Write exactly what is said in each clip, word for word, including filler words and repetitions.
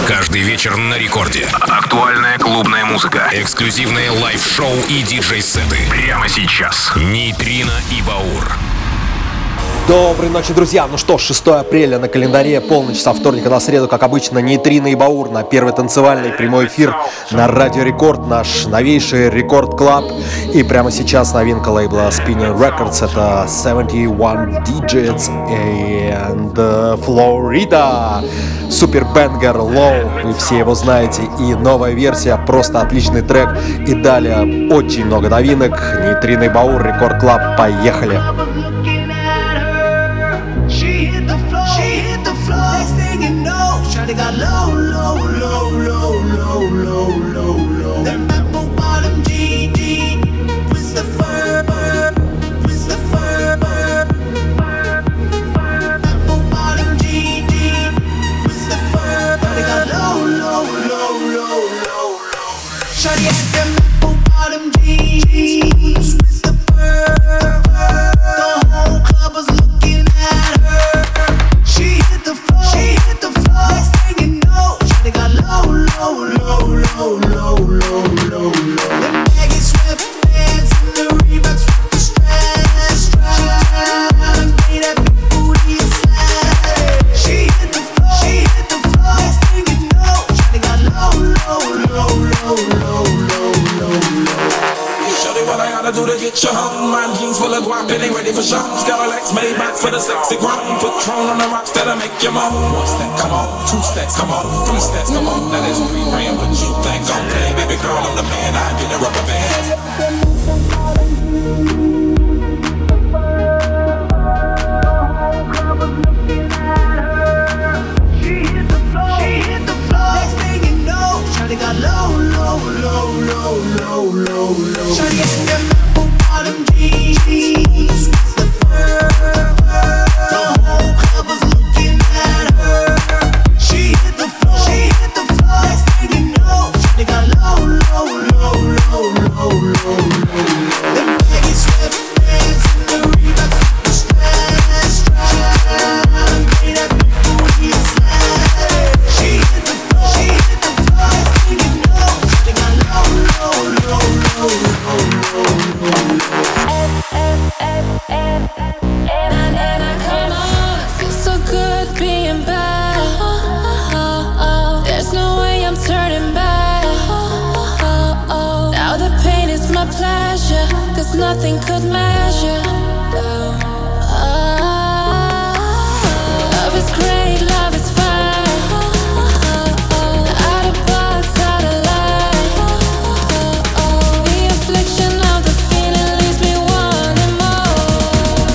Каждый вечер на рекорде. Актуальная клубная музыка, эксклюзивные лайв-шоу и диджей-сеты. Прямо сейчас. Нейтрино и Баур. Доброй ночи, друзья! Ну что ж, шестое апреля на календаре, полночь со вторника на среду, как обычно, Нейтрино и Баур на первый танцевальный прямой эфир на Радио Рекорд, наш новейший Рекорд Клаб. И прямо сейчас новинка лейбла Spinning Records, это семьдесят один Digits and Florida. Супер бенгер Low, вы все его знаете, и новая версия, просто отличный трек. И далее очень много новинок. Нейтрино и Баур, Рекорд Клаб, поехали! They got low, low, low, low, low, low, low, low. Them apple bottom G D with the fur, with the fur. Apple bottom G D with the fur. They got low, low, low, low, low, low. Shawty had them apple bottom G Ds with the fur. The whole club was looking at her. She hit the floor, she hit the floor. They got low, low, low, low, low, low, low, low. Them baggy sweatpants and the Reeboks with the stress. Tryna make that big booty a slap. She hit the floor, she hit the floor. Next thing you know, they got low, low, low, low, low, low, low, low. Shorty, what I gotta do to get you home? My jeans full of guap and they ready for show. Skylights made back for the sexy grown. Patron on the rocks that'll make you moan. One step, come on. Two steps, come on. Three steps, come on. That is three grand, but you think I'm play. Baby girl, I'm the man. I get a rubber band. They got low, low, low, low, low, low, low. Shawty had them apple bottom jeans with the fur. The whole club was looking at her. She hit the floor, she hit the floor. Next thing you know, they got low, low, low, low, low, low, low. Them baggy sweatpants and the Reeboks with the stress. Tryna make that big booty a slap. She hit the floor, she hit the floor. Nothing could measure. Oh, oh, love is great, love is fine. Out of box, out of line. The affliction of the feeling leaves me wanting more.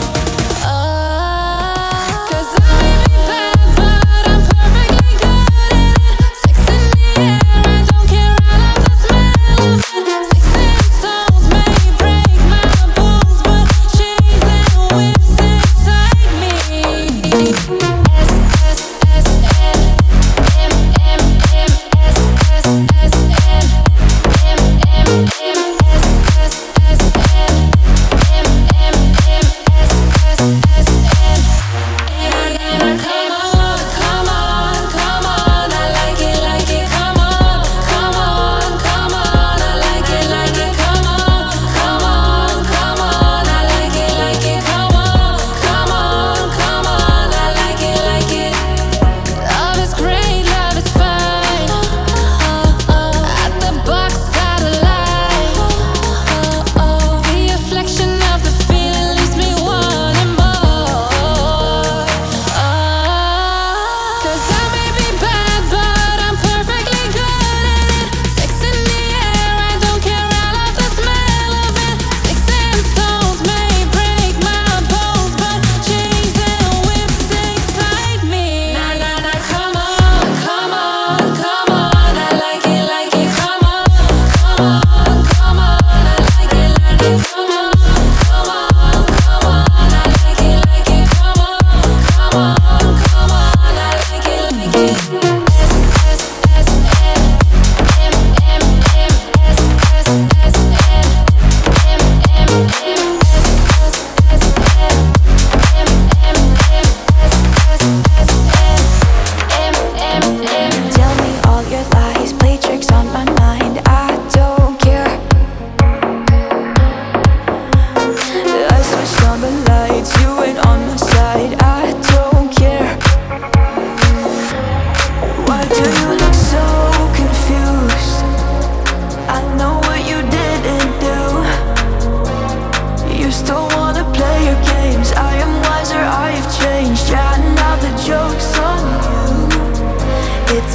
Oh, cause I may be bad, but I'm perfectly good at it. Sex in the air, I don't care, I love the smell of it. Six inch stones may break my bones, but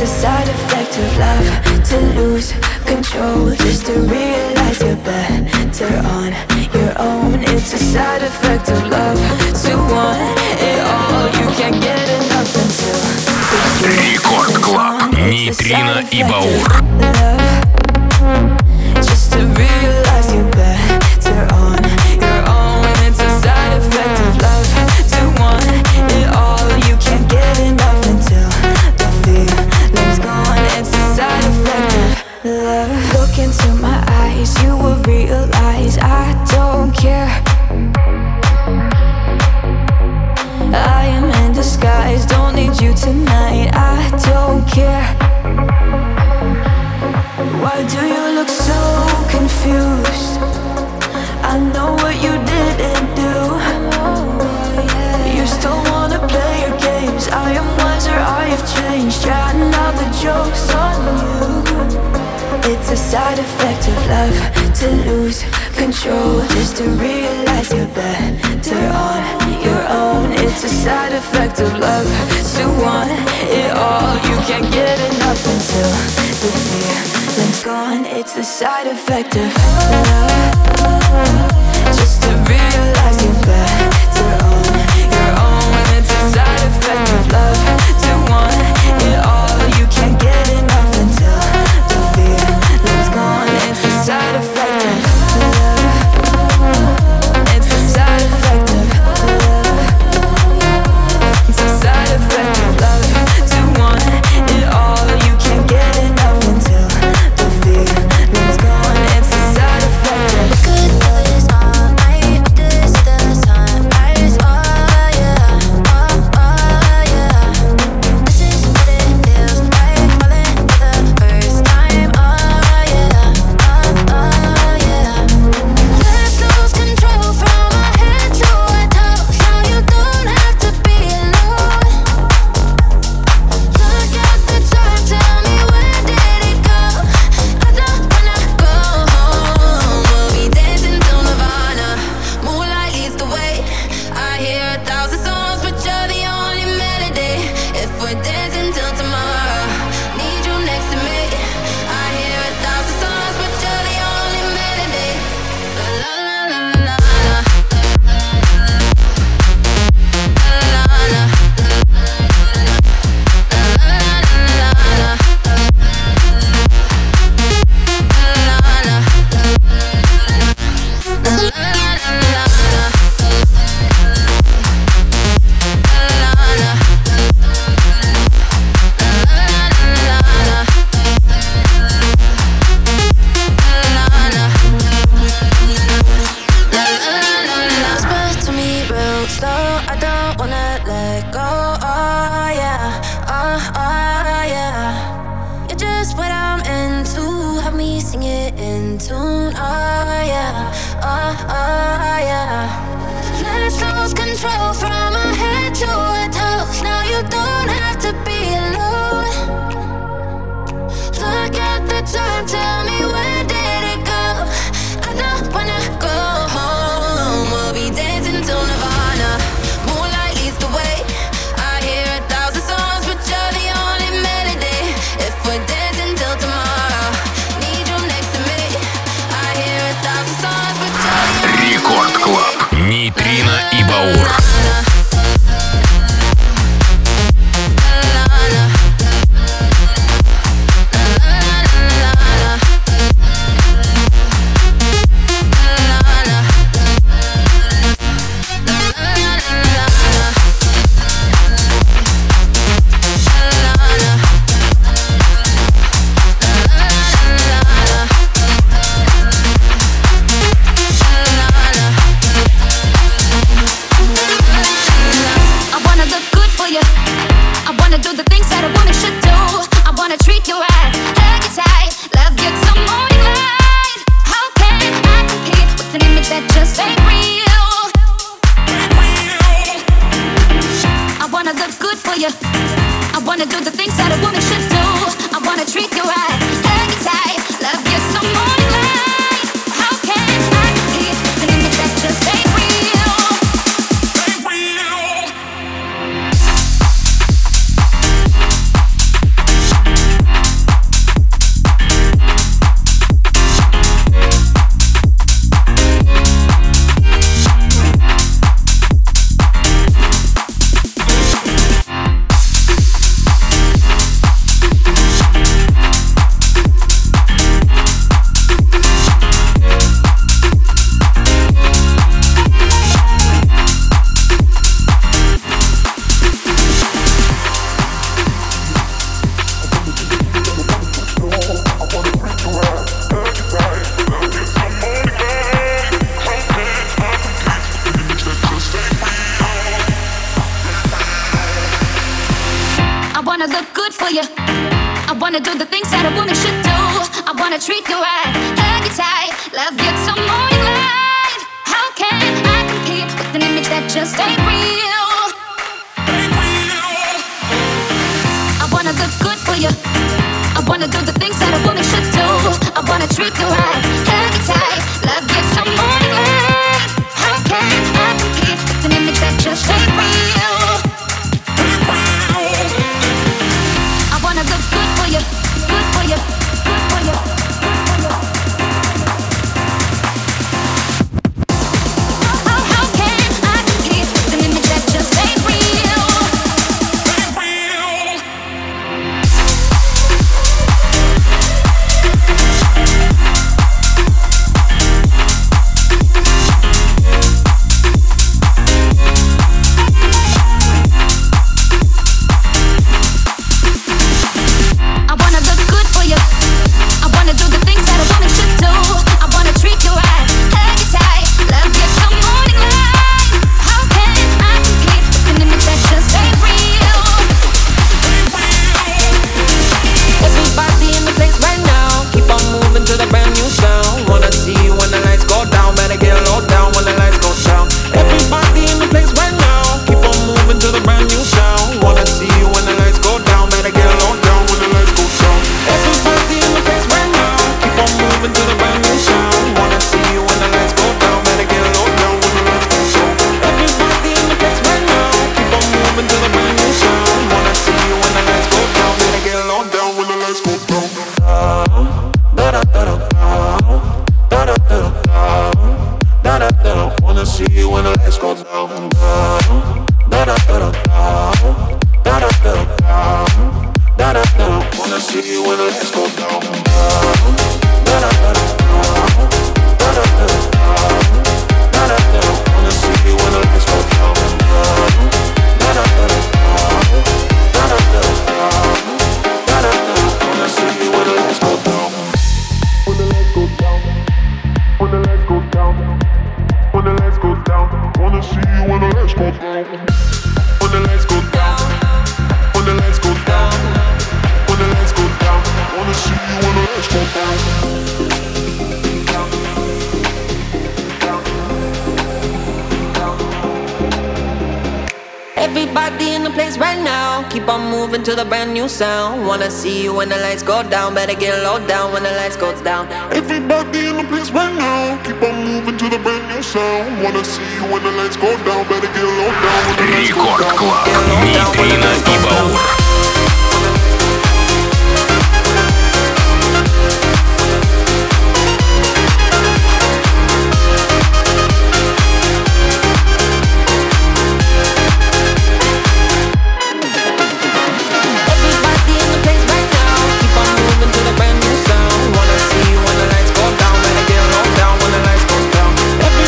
a side effect of love, to lose control, just to realize you're better on your own. It's a side effect of love, to want it all. You can't get enough until Рекорд Клаб. Нейтрино и Баур. Just to realize you're better on your own. It's a side effect of love, to want it all. You can't get enough until the feeling's gone. It's a side effect of love. Look into my eyes, you will realize I don't care. I am in disguise, don't need you tonight, I don't care. Why do you look so confused? I know what you didn't do. You still wanna play your games. I am wiser, I have changed. Trying out the jokes on you. It's a side effect of love, to lose control, just to realize you're better on your own. It's a side effect of love, to want it all. You can't get enough until the feeling's gone. It's the side effect of love, just to realize you're better on your own. It's a side effect of love, to want it all. You can't get enough until the feeling's gone. It's the side effect of love. It's the side effect of love. It's the side effect of love, to want it all. You can't get enough until the feeling's gone. It's the side effect of love. Could do this all night. We could see the sunrise. Oh yeah, oh oh yeah. This is what it feels like, falling for the first time. Oh yeah, oh oh yeah. Let's lose control from our head to our toes. Now you don't have to be alone. Look at the time, tell me where did it go? I don't wanna go home. We'll be dancing till Nirvana. Moonlight leads the way. I hear a thousand songs, but you're the only melody. If we're dancing till tomorrow, need you next to me. I hear a thousand songs, but you're the only melody. La la la la la la. La la la. Supposed to me real slow. I don't wanna let go. Oh yeah, oh oh yeah. You're just what I'm into. Have me sing it in tune. Oh yeah, oh oh yeah. Let's lose control from our head to our toes. Now you don't have to be alone. Look at the time, tell me where did it go? I don't wanna go home. We'll be dancing till Nirvana. Moonlight leads the way. I hear a thousand songs, but you're the only melody. If we're dancing till tomorrow, need you next to me. I hear a thousand songs, but you're the only Рекорд Клаб. Нейтрино и Баур. I wanna look good for you. I wanna do the things that a woman should do. I wanna treat you right, hug you tight, love you till morning light. How can I compete with an image that just ain't real? I wanna look good for you. I wanna do the things that a woman should do. I wanna treat you right, hug you tight, love you till morning light. How can I compete with an image that just ain't real? Ain't real. wanna look good for you. I wanna do the things that a woman should do. I wanna treat you right, hug you tight, love you till morning light. How can I compete with an image that just ain't real? Ain't real. I wanna look good for you. I wanna do the things that a woman should do. I wanna treat you right, hug you tight, love you till morning light. How can I compete with an image that just ain't real? I wanna look good for you, good for you, good for you, good for you. How, how can I compete with an image that just ain't real? Ain't real. Everybody in the place right now, keep on moving to the brand new sound. Wanna see you when the lights go down, better get low down when the lights go down. Everybody in the place right now, keep on moving to the brand new sound. Wanna see you when the lights go down, better get low down when the lights go down. Рекорд Клаб, Нитрина и Баур.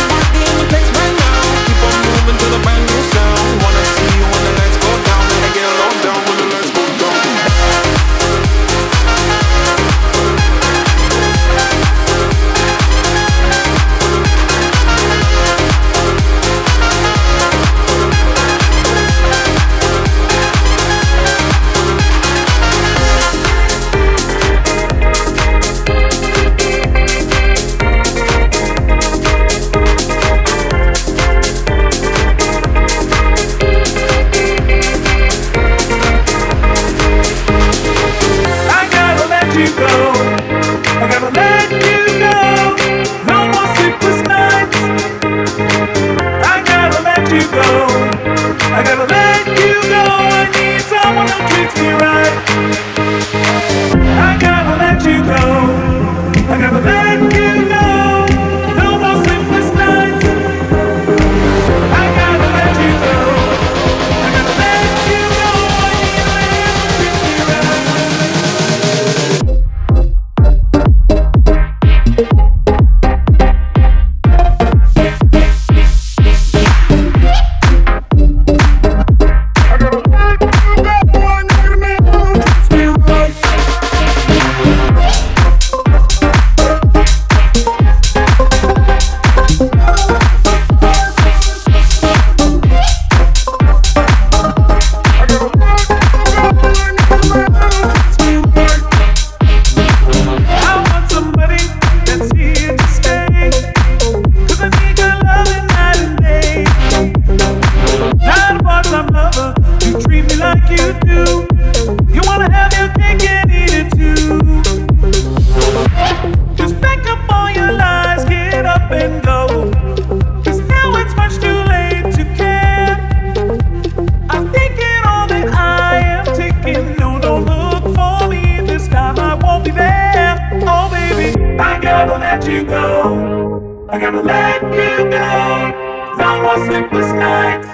Wanna see you when the lights go down, better get low do. You wanna have your cake and eat it too. Just pack up all your lies, get up and go. 'Cause now it's much too late to care. I'm thinking all that I am taking. No, don't look for me this time, I won't be there. Oh baby, I gotta let you go. I gotta let you go. No more sleepless nights.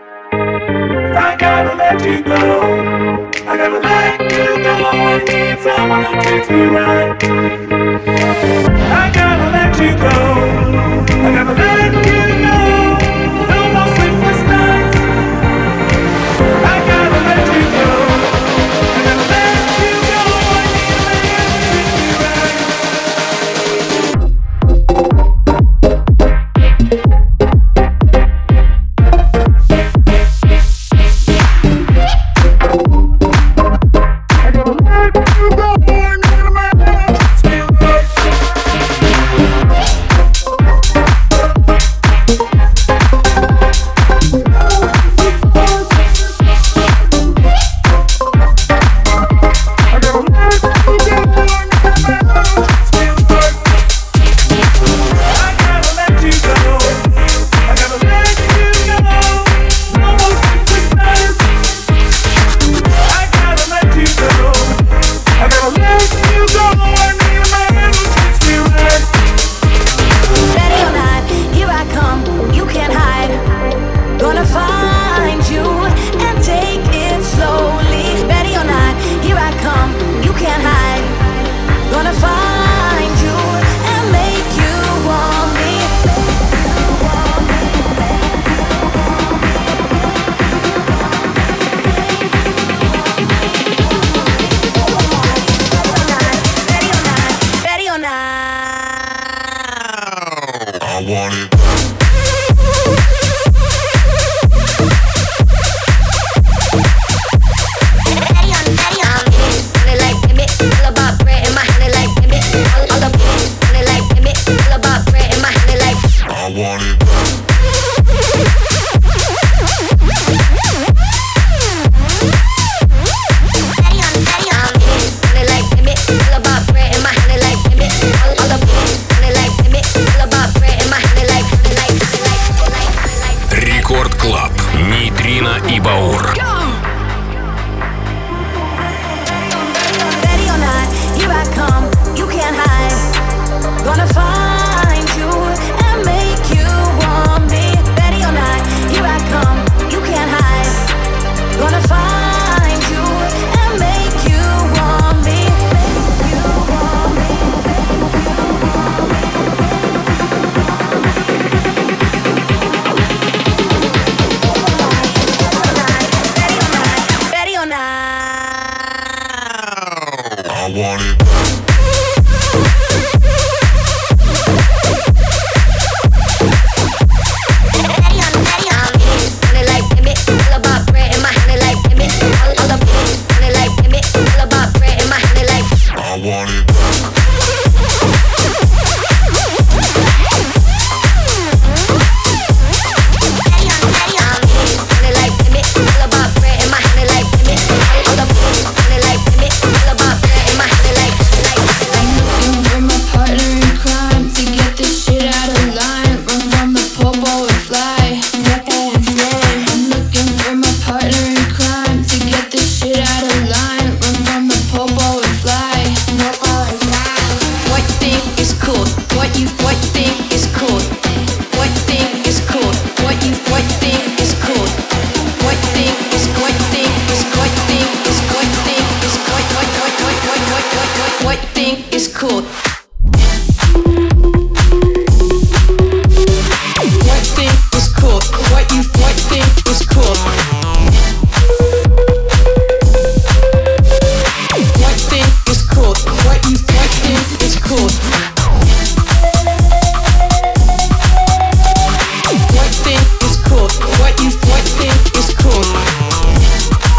I gotta let you go. I gotta let you go. I need someone who treats me right. I gotta let you go. I gotta let you go. No more sleepless nights. I gotta let you go. I gotta let you go. I need a man who treats me right.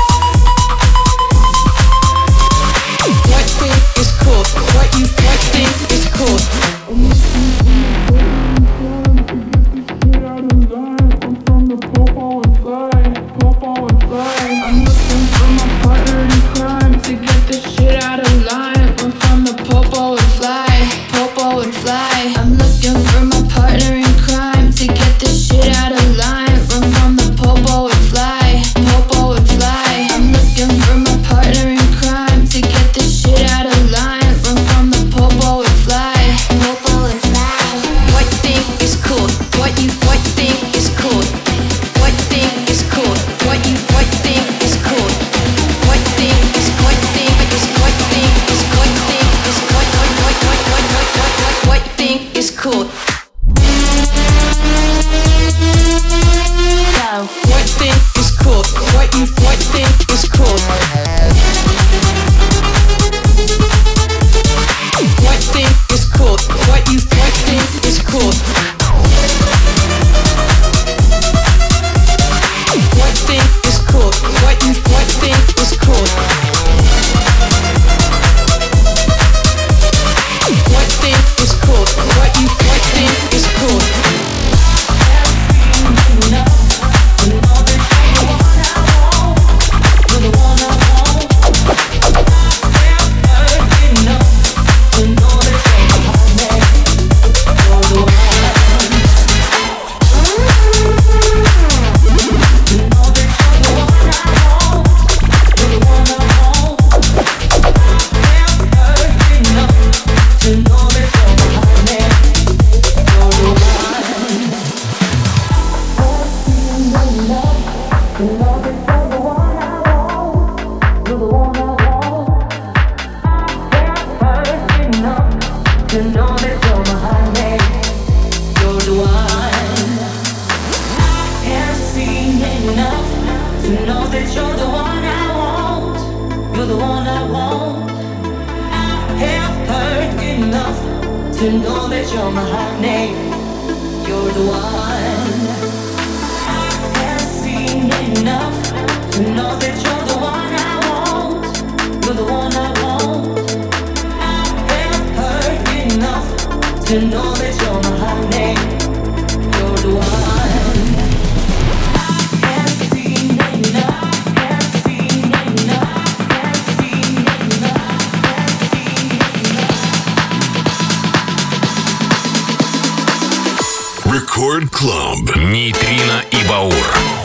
What think is cool? What you what think the one I want. I have heard enough to know that you're my honey. You're the one. I have seen enough to know that you're the one I want. You're the one I want. I have heard enough to know that you're my honey. You're the one. I have seen enough. Record Club. Нейтрино и Баур.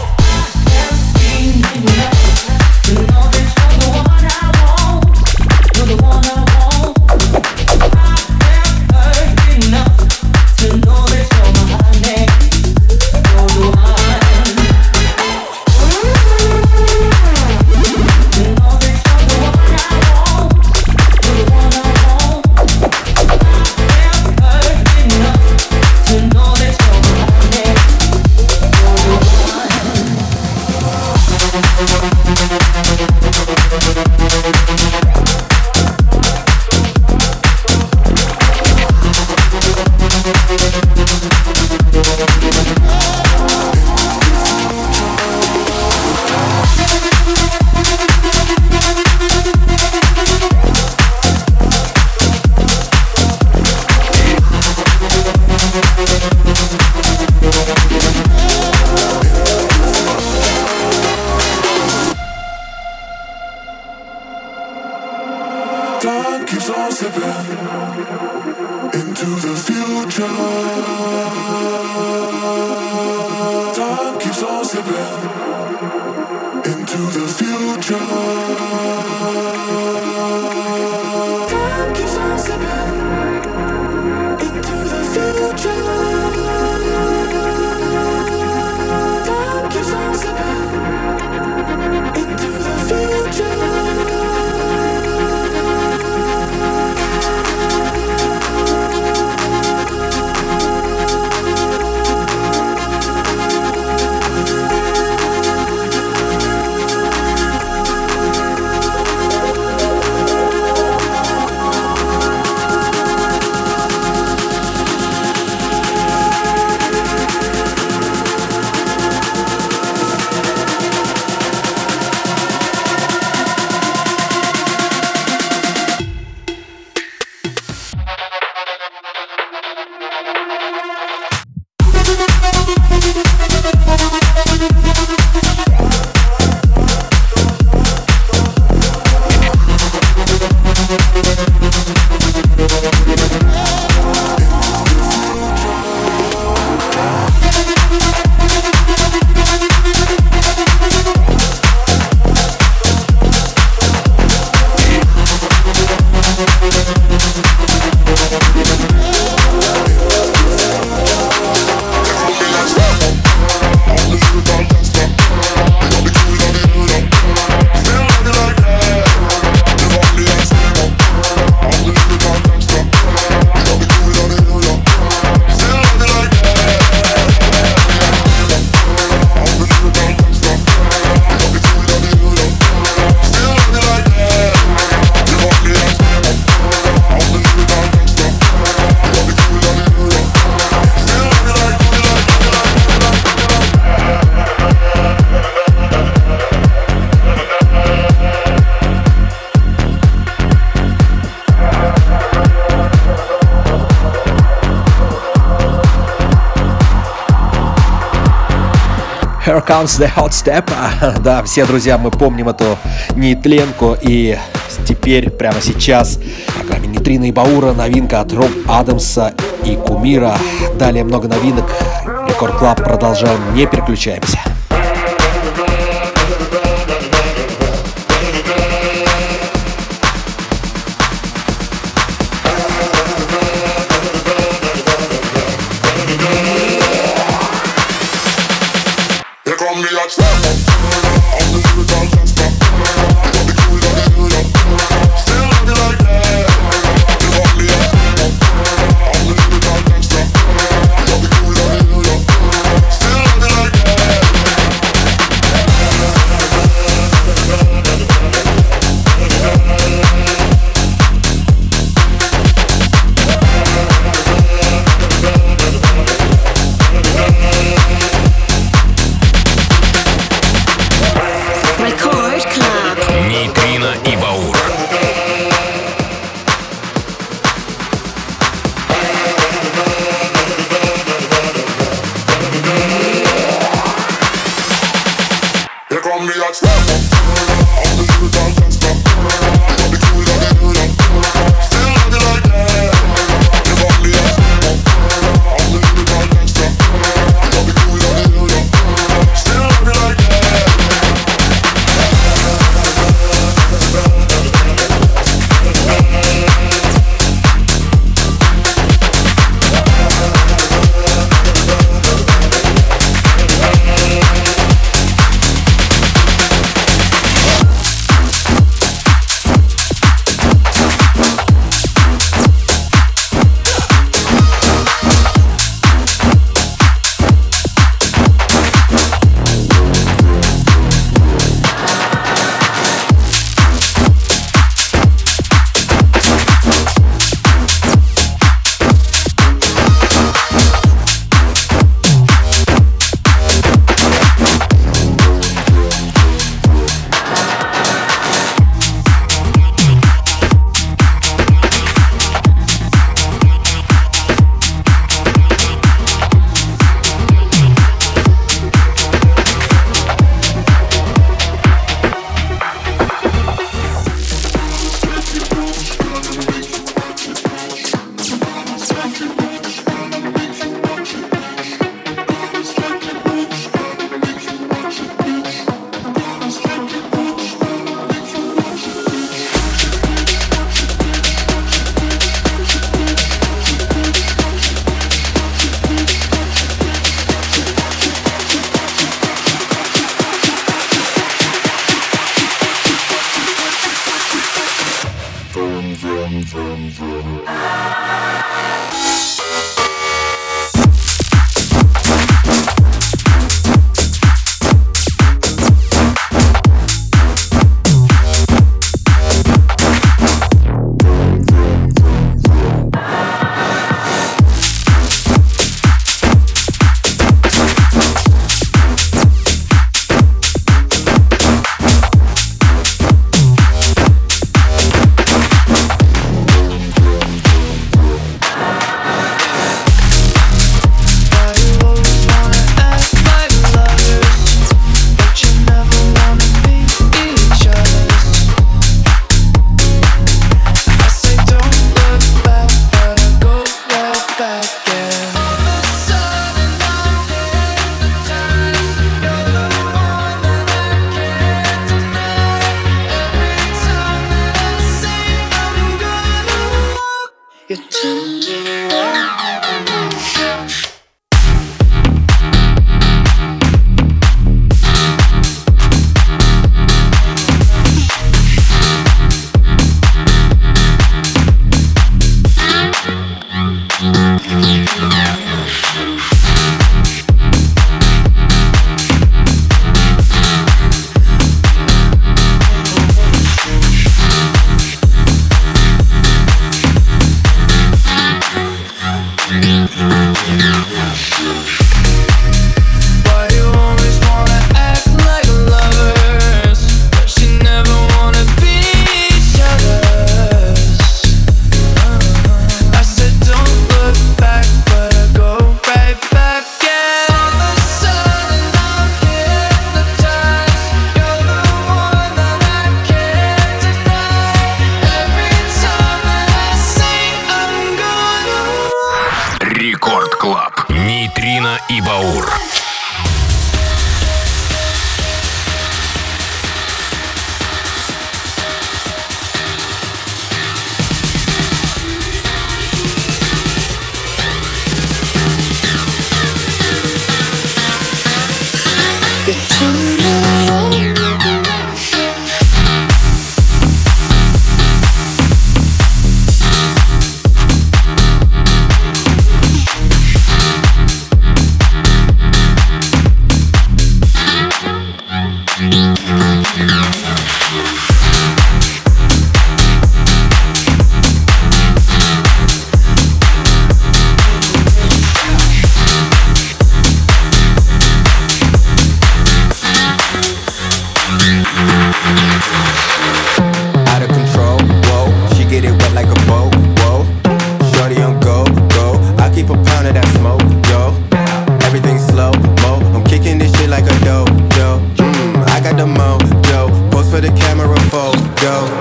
Time keeps on slipping into the future. Time keeps on slipping into the future. Time keeps on slipping into the future. Time keeps on slipping into the future. Here comes the hot step. Да, все, друзья, мы помним эту нейтленку. И теперь, прямо сейчас, в программе Нейтрино и Баура новинка от Роб Адамса и Кумира. Далее много новинок. Рекорд Клаб продолжаем, не переключаемся. Still Нитрина и Баур.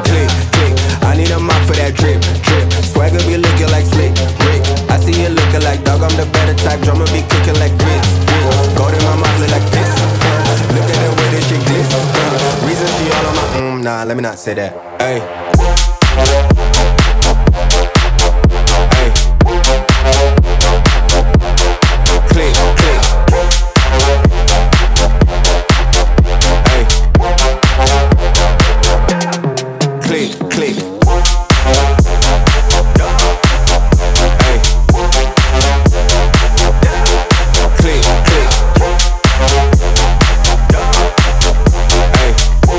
Click, click. I need a mop for that drip, drip. Swagger be looking like slick, Rick. I see you looking like dog. I'm the better type. Drummer be cooking like grits, grits. Gold in my mouth look like this. Uh, look at the way this shit glitz. Uh, reason she all on my mm, nah. Let me not say that. Hey. Hey. Click, click. Click, click. Hey. Click, click. Hey.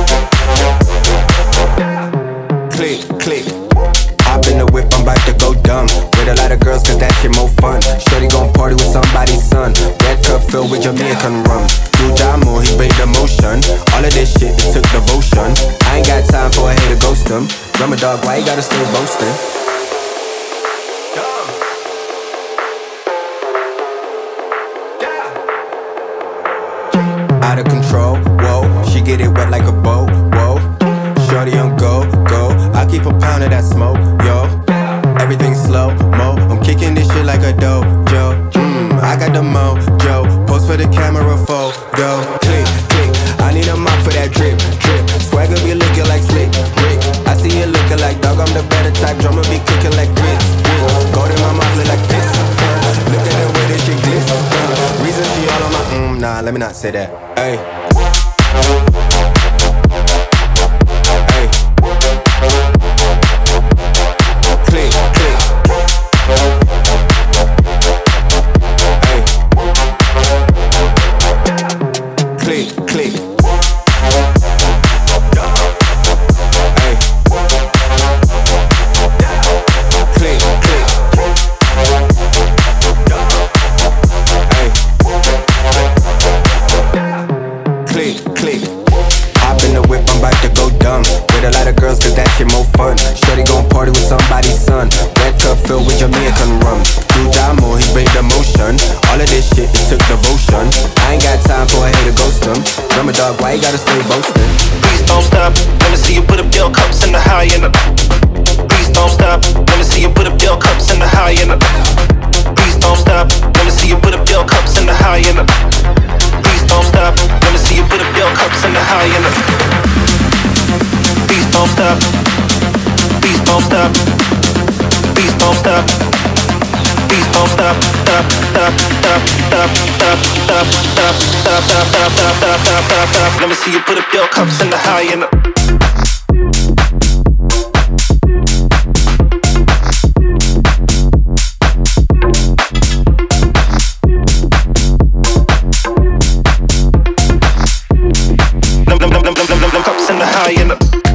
Click, click. Hop in the whip, I'm about to go dumb. With a lot of girls, cause that shit more fun. Shorty gon' party with somebody's son. Red cup filled with Jamaican rum. Do Jamo, he made the motion. All of this shit, it took devotion. I ain't got time for a hater ghost him. Drummer dog, why you gotta stay boasting? Out of control, whoa. She get it wet like a boat, whoa. Shorty on go, go. I keep a pound of that smoke, yo. Everything slow, mo. I'm kicking this shit like a dojo. Mmm, I got the mojo. Post for the camera photo. Click, click. I need a mop for that drip, drip. Swagger be looking like slick, Rick. I see you looking like dog. I'm the better type. Drummer be cooking like grits, grits. Gold in my mouth look like this. Uh, look at the way this shit glitz. Uh, reason she all on my mm, nah. Let me not say that. Hey. Hey. Click, click. Hey. Click, click. Hey. Click, click. Hey. Click, click. Hop in the whip, I'm about to go dumb. With a lot of girls, cause that shit more fun. Shorty gon' party with somebody's son. Red cup filled with Jamaican rum. Do Jamo, he made the motion. All of this shit, it took devotion. I ain't got time for a hater ghost him. Drummer dog, why you gotta stay boasting? Please don't stop, let me see you put up your cups in the high end. Please don't stop, let me see you put up your cups in the high end. Please don't stop, let me see you put up your cups in the high end. Please don't stop, let me see you put up your cups in the high end. Please don't stop, please don't stop, please don't stop, please don't stop, stop, stop, stop, stop, stop, stop, stop, stop, stop, stop, stop, stop, stop, stop. Let me see you put up your cups in the high end. Cups in the high end.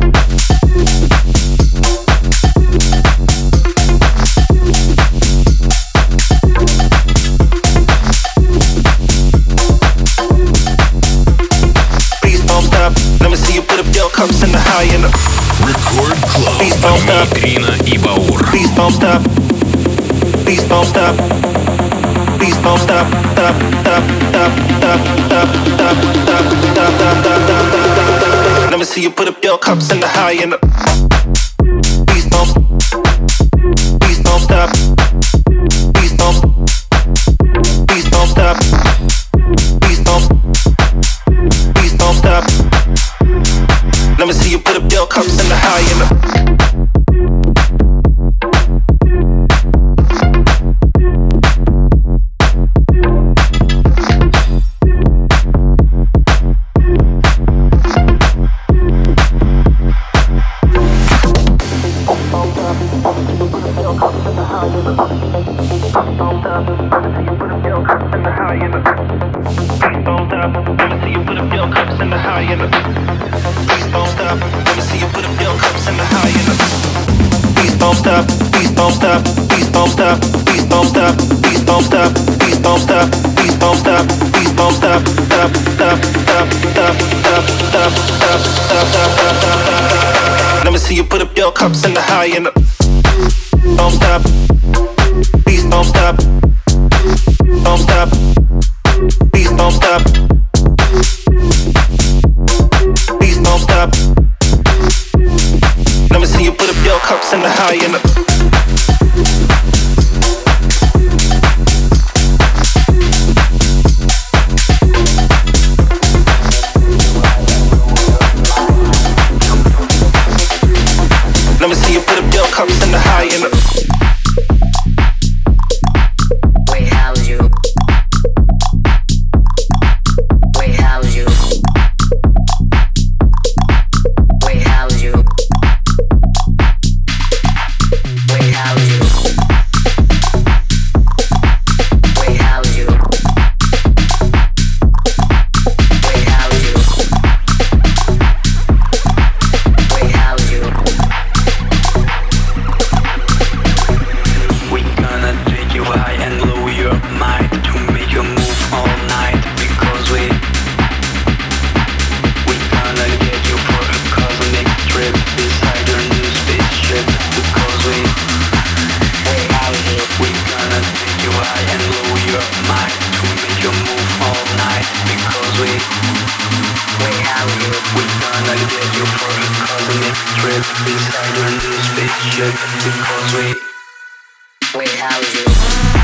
Please don't stop. Let me see you put up your cups in the high end. Record Club. Please don't stop. Нитрина и Баур. Please don't stop. Please don't stop. Please don't stop. Stop. Stop. Stop. Stop. Stop. Stop. Stop. Stop. Stop. Stop. Let me see you put up your cups in the high end. Please don't. Please don't stop. Please don't. Please don't stop. Please don't. Please don't stop. Let me see you put up your cups in the high end. Let me see you put up your cups in the high end. Don't stop. Please don't stop. Don't stop. Please don't stop. Please don't stop. me see you put up your cups in the high and the Let me see you put up your cups in the high and the Wait, how's you? Wait, how's you? Wait, how's you? Wait, how's you? Wait, how's you? Wait, how's you? Wait, how's you? We gonna take you high and low your mind to make you move all night because we we gonna get you for a cosmic trip beside your new spaceship because we we gonna take you high and low your mind to make you move all night because we we gonna get you for a cosmic trip beside your new spaceship because we Wait, how's you?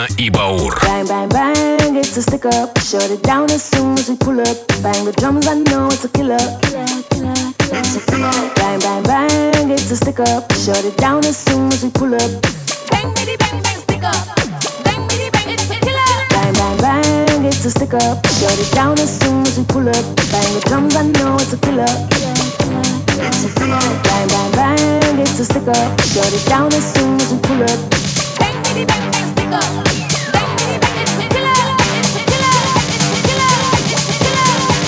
Нитрина и Баур. Bang, bang, bang, it's a stick up. Shut it down as soon as we pull up. Bang the drums, I know it's a killer. It's a killer. Bang, bang, bang, it's a stick up. Shut it down as soon as we pull up. Bang, bitty, bang, bang, stick up. Bang, bitty, bang, it's a killer. Bang, bang, bang, it's a stick up. Shut it down as soon as we pull up. Bang the drums, I know it's a killer. It's a killer. Bang, bang, bang, it's a stick up. Shut it down as soon as we pull up. Bang, bitty, bang, bang, stick up. Bang, bitty, bang, it's a killer. It's a killer. It's a killer. It's a killer.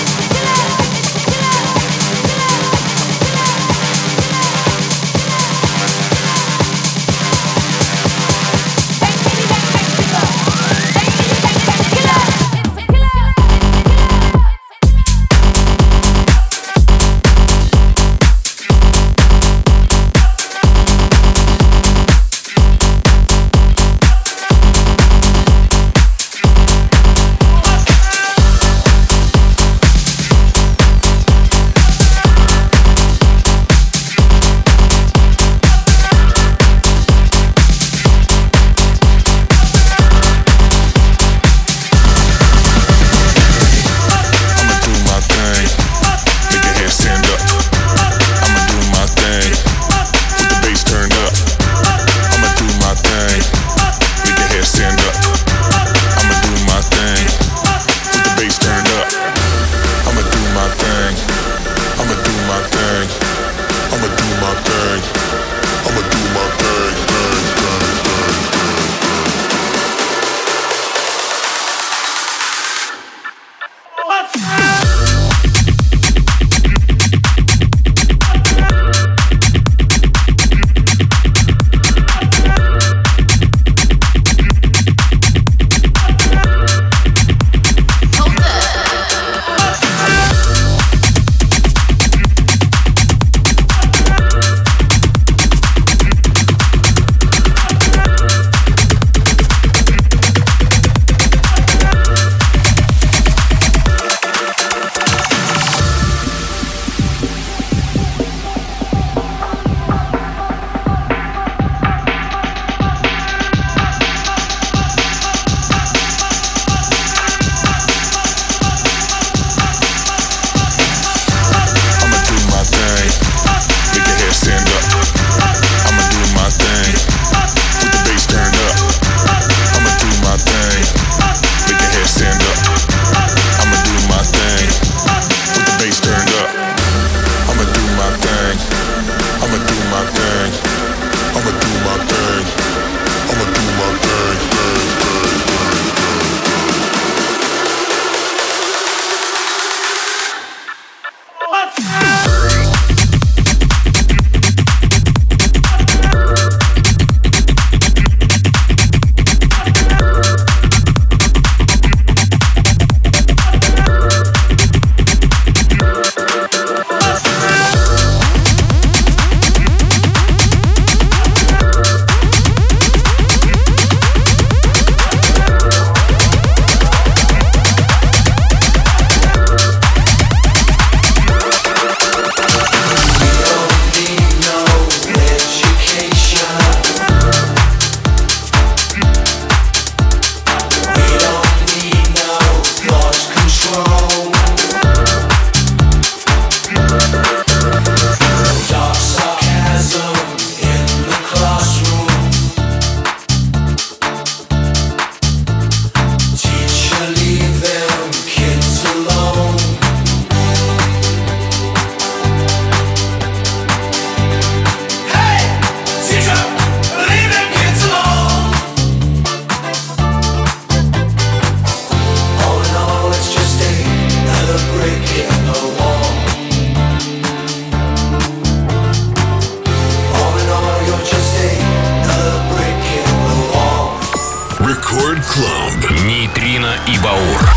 Нитрина и Баур.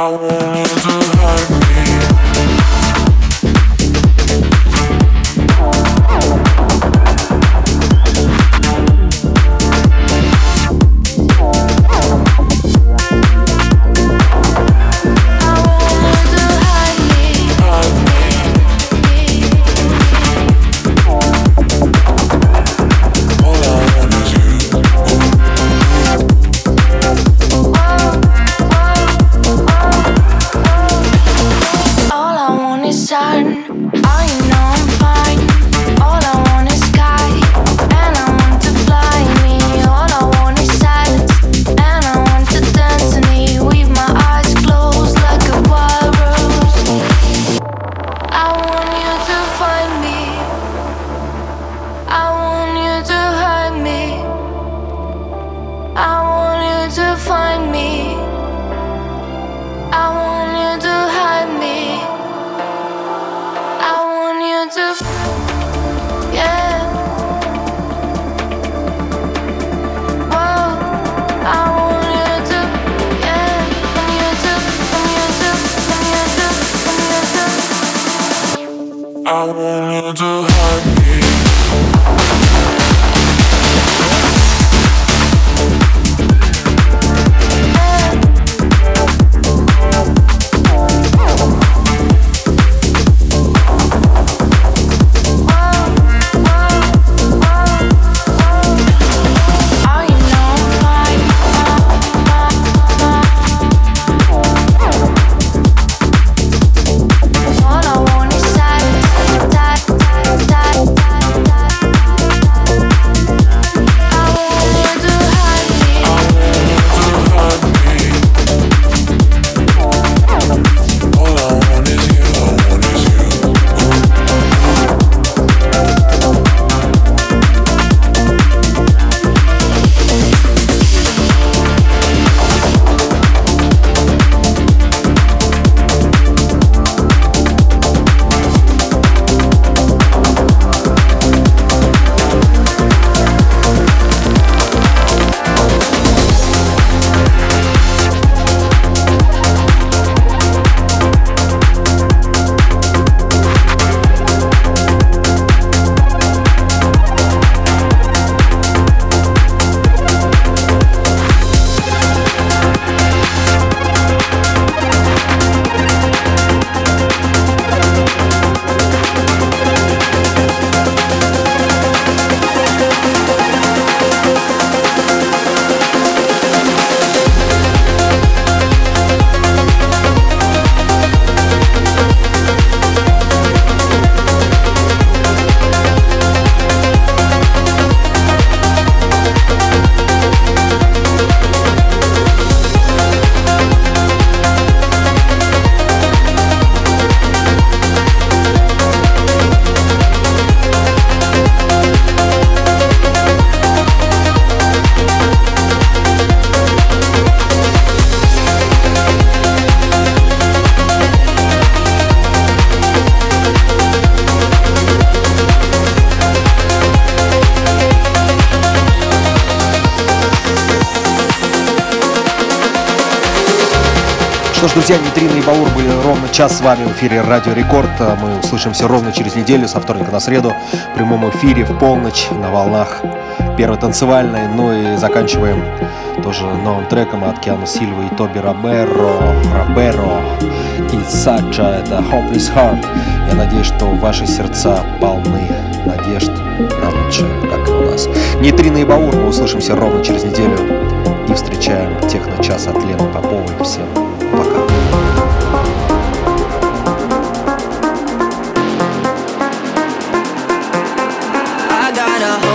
I want you to hide me. Что ж, друзья, Нитрина и Баур были ровно час с вами в эфире Радио Рекорд. Мы услышимся ровно через неделю, со вторника на среду, в прямом эфире в полночь на волнах Первой танцевальной. Ну и заканчиваем тоже новым треком от Киану Сильвы и Тоби Роберо. Роберо и Сача, это Hopeless Heart. Я надеюсь, что ваши сердца полны надежд на лучшее, как и у нас. Нитрина и Баур, мы услышимся ровно через неделю и встречаем техно-час от Лены Поповой. Всем пока. I got a